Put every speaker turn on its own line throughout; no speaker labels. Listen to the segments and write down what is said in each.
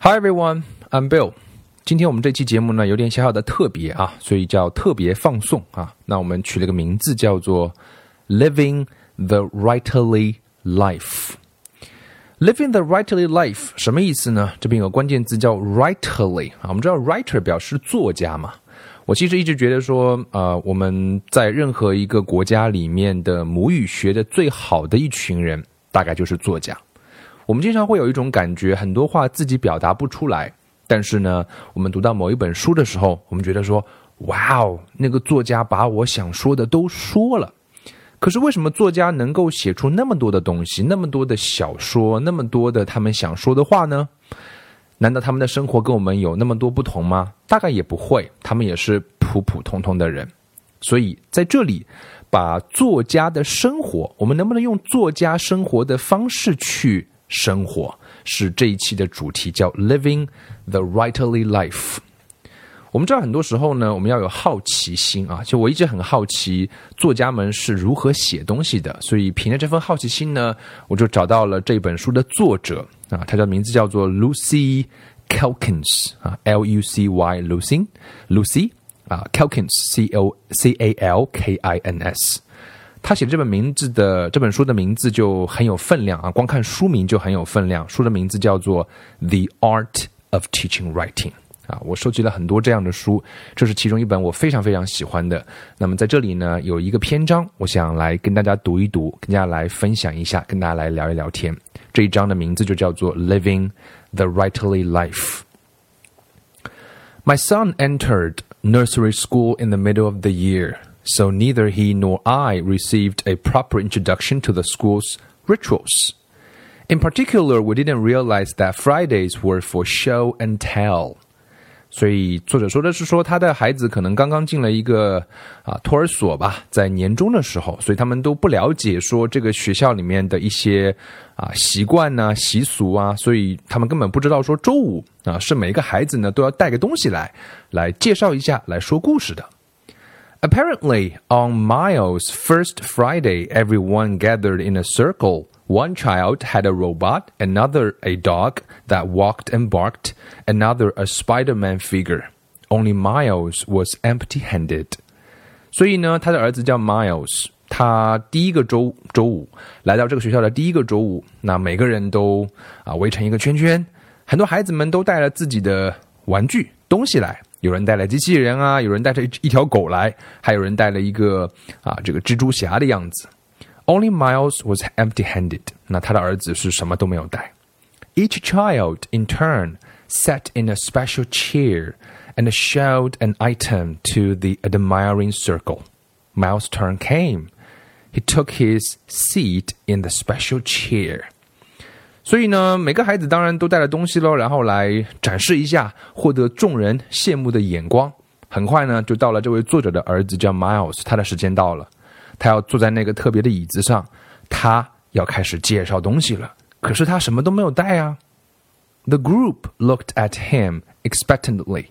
Hi everyone, I'm Bill. 今天我们这期节目呢有点小小的特别啊，所以叫特别放送啊。那我们取了个名字叫做 Living the Writerly Life。Living the Writerly Life 什么意思呢？这边有个关键字叫 Writerly 啊。我们知道 Writer 表示作家嘛。我其实一直觉得说我们在任何一个国家里面的母语学的最好的一群人大概就是作家。我们经常会有一种感觉，很多话自己表达不出来，但是呢我们读到某一本书的时候，我们觉得说哇哦，那个作家把我想说的都说了。可是为什么作家能够写出那么多的东西，那么多的小说，那么多的他们想说的话呢？难道他们的生活跟我们有那么多不同吗？大概也不会，他们也是普普通通的人。所以在这里把作家的生活，我们能不能用作家生活的方式去生活，是这一期的主题，叫 Living the Writerly Life。 我们知道很多时候呢，我们要有好奇心啊，就我一直很好奇作家们是如何写东西的，所以凭着这份好奇心呢，我就找到了这本书的作者啊，他的名字叫做 Lucy Calkins 啊 Lucy Lucy 啊 Calkins Calkins。他写这本书的名字就很有分量啊，光看书名就很有分量。书的名字叫做 The Art of Teaching Writing 啊，我收集了很多这样的书，这是其中一本我非常非常喜欢的。那么在这里呢，有一个篇章，我想来跟大家读一读，跟大家来分享一下，跟大家来聊一聊天。这一章的名字就叫做 Living the Writerly Life。 My son entered nursery school in the middle of the year.So neither he nor I received a proper introduction to the school's rituals. In particular, we didn't realize that Fridays were for show and tell. 所以作者说的是说他的孩子可能刚刚进了一个托儿所吧，在年中的时候，所以他们都不了解说这个学校里面的一些习惯啊习俗啊，所以他们根本不知道说周五是每一个孩子呢都要带个东西来介绍一下，来说故事的。Apparently, on Miles' first Friday, everyone gathered in a circle. One child had a robot, another a dog that walked and barked, another a Spider-Man figure. Only Miles was empty-handed. 所以呢，他的儿子叫 Miles， 他第一个周五来到这个学校的第一个周五，那每个人都围成一个圈圈，很多孩子们都带了自己的玩具东西来。有人带了机器人啊，有人带着一条狗来，还有人带了一个这个蜘蛛侠的样子。Only Miles was empty-handed. 那他的儿子是什么都没有带。Each child in turn sat in a special chair and showed an item to the admiring circle. Miles' turn came. He took his seat in the special chair.所以呢，每个孩子当然都带了东西咯，然后来展示一下，获得众人羡慕的眼光。很快呢，就到了这位作者的儿子叫 Miles， 他的时间到了，他要坐在那个特别的椅子上，他要开始介绍东西了。可是他什么都没有带啊。The group looked at him expectantly.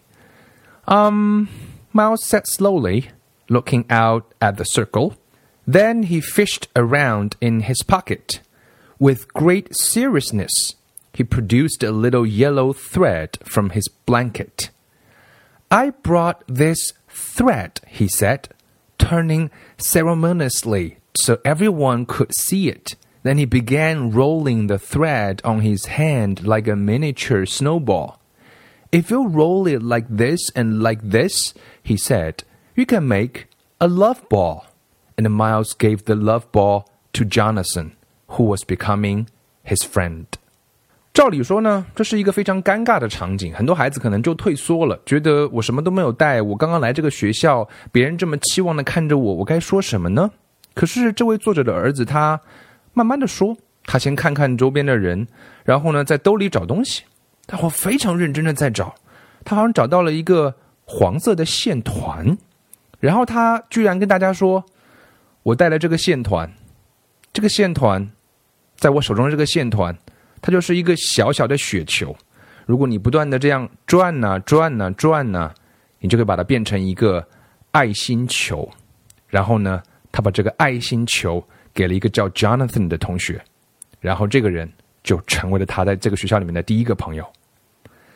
Miles said slowly, looking out at the circle. Then he fished around in his pocket.With great seriousness, he produced a little yellow thread from his blanket. I brought this thread, he said, turning ceremoniously so everyone could see it. Then he began rolling the thread on his hand like a miniature snowball. If you roll it like this and like this, he said, you can make a love ball. And Miles gave the love ball to Jonathan.Who was becoming his friend. 照理说呢，这是一个非常尴尬的场景，很多孩子可能就退缩了，觉得我什么都没有带，我刚刚来这个学校，别人这么期望的看着我，我该说什么呢？可是这位作者的儿子他慢慢的说，他先看看周边的人，然后呢在兜里找东西，他非常认真的在找，他好像找到了一个黄色的线团，然后他居然跟大家说，我带了这个线团，这个线团在我手中的这个线团，它就是一个小小的雪球。如果你不断的这样转啊转啊转啊，你就可以把它变成一个爱心球。然后呢，他把这个爱心球给了一个叫 Jonathan 的同学，然后这个人就成为了他在这个学校里面的第一个朋友。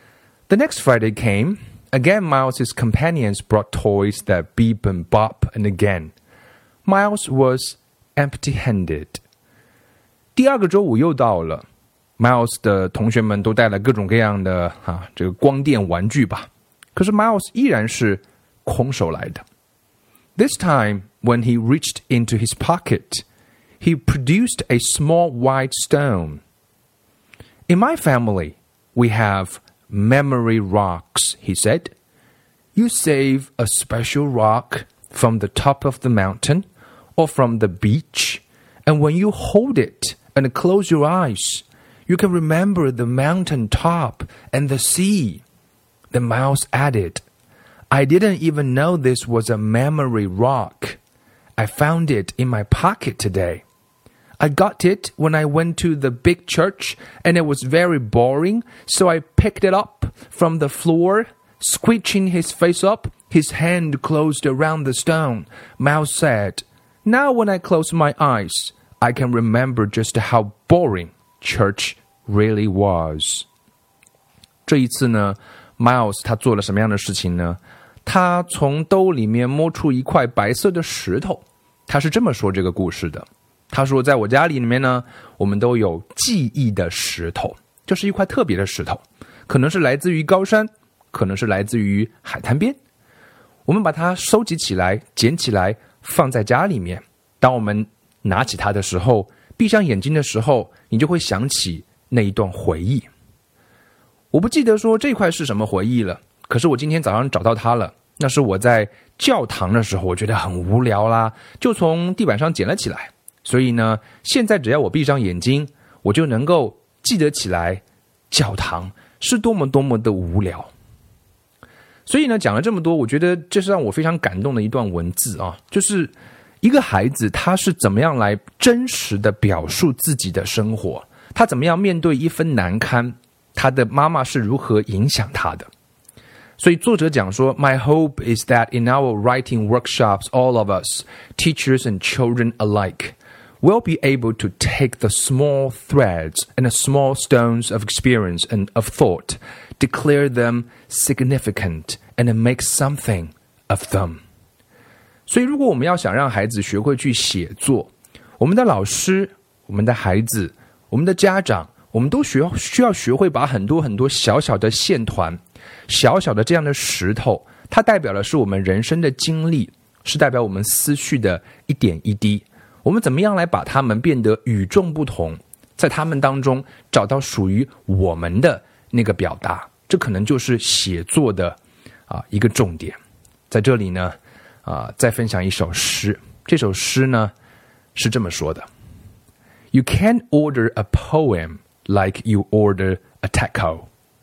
The next Friday came. Again, Miles' companions brought toys that beep and bop, and again, Miles was empty-handed. 第二个周五又到了 ，Miles 的同学们都带了各种各样的这个光电玩具吧，可是 Miles 依然是空手来的。This time, when he reached into his pocket, he produced a small white stone. In my family, we have memory rocks, he said. You save a special rock from the top of the mountain or from the beach, and when you hold it and close your eyes, you can remember the mountain top and the sea. Then Miles added, I didn't even know this was a memory rock. I found it in my pocket today. I got it when I went to the big church, and it was very boring, so I picked it up from the floor. Squishing his face up, his hand closed around the stone. Miles said, Now when I close my eyes, I can remember just how boring church really was. 这一次呢 Miles 他做了什么样的事情呢？他从兜里面摸出一块白色的石头。他是这么说这个故事的。他说在我家里面呢，我们都有记忆的石头，就是一块特别的石头，可能是来自于高山，可能是来自于海滩边。我们把它收集起来，捡起来，放在家里面。当我们拿起它的时候，闭上眼睛的时候，你就会想起那一段回忆。我不记得说这块是什么回忆了，可是我今天早上找到它了。那是我在教堂的时候，我觉得很无聊啦，就从地板上捡了起来。所以呢，现在只要我闭上眼睛，我就能够记得起来教堂是多么多么的无聊。所以呢，讲了这么多，我觉得这是让我非常感动的一段文字啊，就是一个孩子他是怎么样来真实的表述自己的生活，他怎么样面对一分难堪，他的妈妈是如何影响他的。所以作者讲说 My hope is that in our writing workshops, all of us, teachers and children alike, will be able to take the small threads and the small stones of experience and of thought, declare them significant, and make something of them. 所以如果我们要想让孩子学会去写作，我们的老师，我们的孩子，我们的家长，我们都需要学会把很多很多小小的线团，小小的这样的石头，它代表的是我们人生的经历，是代表我们思绪的一点一滴。我们怎么样来把它们变得与众不同，在它们当中找到属于我们的那个表达，这可能就是写作的一个重点。在这里呢再分享一首诗，这首诗呢是这么说的 You can't order a poem like you order a taco.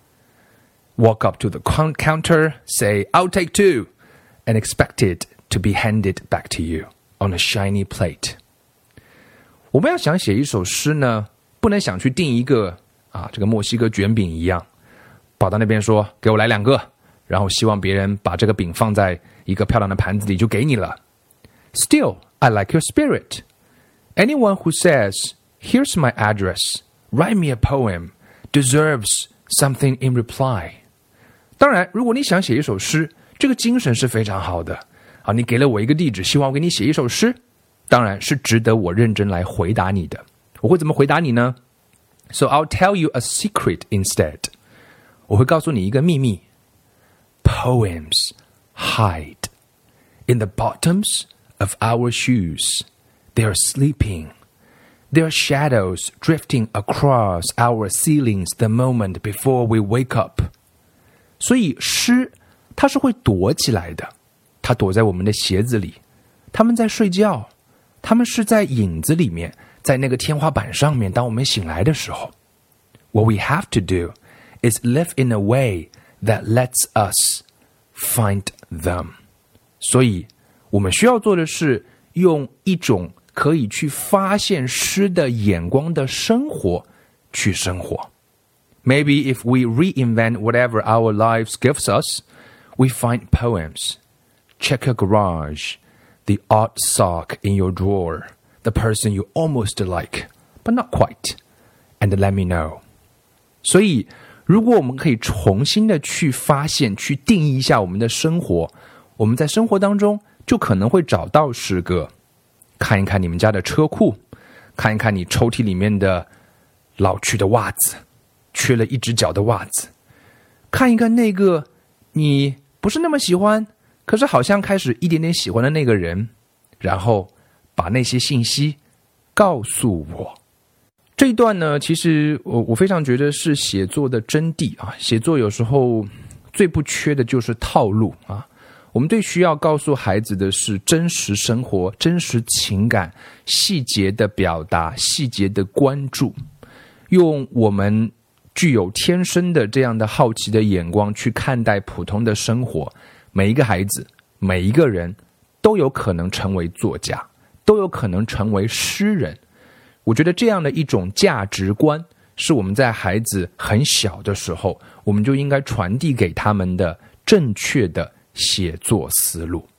Walk up to the counter, say, I'll take two, and expect it to be handed back to you on a shiny plate. 我们要想写一首诗呢，不能想去订一个这个墨西哥卷饼一样，跑到那边说给我来2个，然后希望别人把这个饼放在一个漂亮的盘子里就给你了。Still, I like your spirit. Anyone who says, here's my address, write me a poem, deserves something in reply. 当然，如果你想写一首诗，这个精神是非常好的。你给了我一个地址，希望我给你写一首诗，当然是值得我认真来回答你的。我会怎么回答你呢？ So I'll tell you a secret instead. 我会告诉你一个秘密。Poems hide in the bottoms of our shoes. They are sleeping. There are shadows drifting across our ceilings the moment before we wake up. 所以诗它是会躲起来的，它躲在我们的鞋子里，它们在睡觉，它们是在影子里面，在那个天花板上面，当我们醒来的时候。What we have to do is live in a way that lets us find them. 所以我们需要做的是用一种可以去发现诗的眼光的生活去生活。Maybe if we reinvent whatever our lives gives us, we find poems. Check your garage, the odd sock in your drawer, the person you almost like, but not quite, and let me know. 所以如果我们可以重新的去发现，去定义一下我们的生活，我们在生活当中就可能会找到诗歌。看一看你们家的车库，看一看你抽屉里面的老去的袜子，缺了一只脚的袜子，看一看那个你不是那么喜欢，可是好像开始一点点喜欢的那个人，然后把那些信息告诉我。这一段呢，其实我非常觉得是写作的真谛啊。写作有时候最不缺的就是套路啊。我们最需要告诉孩子的是真实生活、真实情感、细节的表达、细节的关注，用我们具有天生的这样的好奇的眼光去看待普通的生活。每一个孩子，每一个人都有可能成为作家，都有可能成为诗人。我觉得这样的一种价值观是我们在孩子很小的时候，我们就应该传递给他们的正确的写作思路。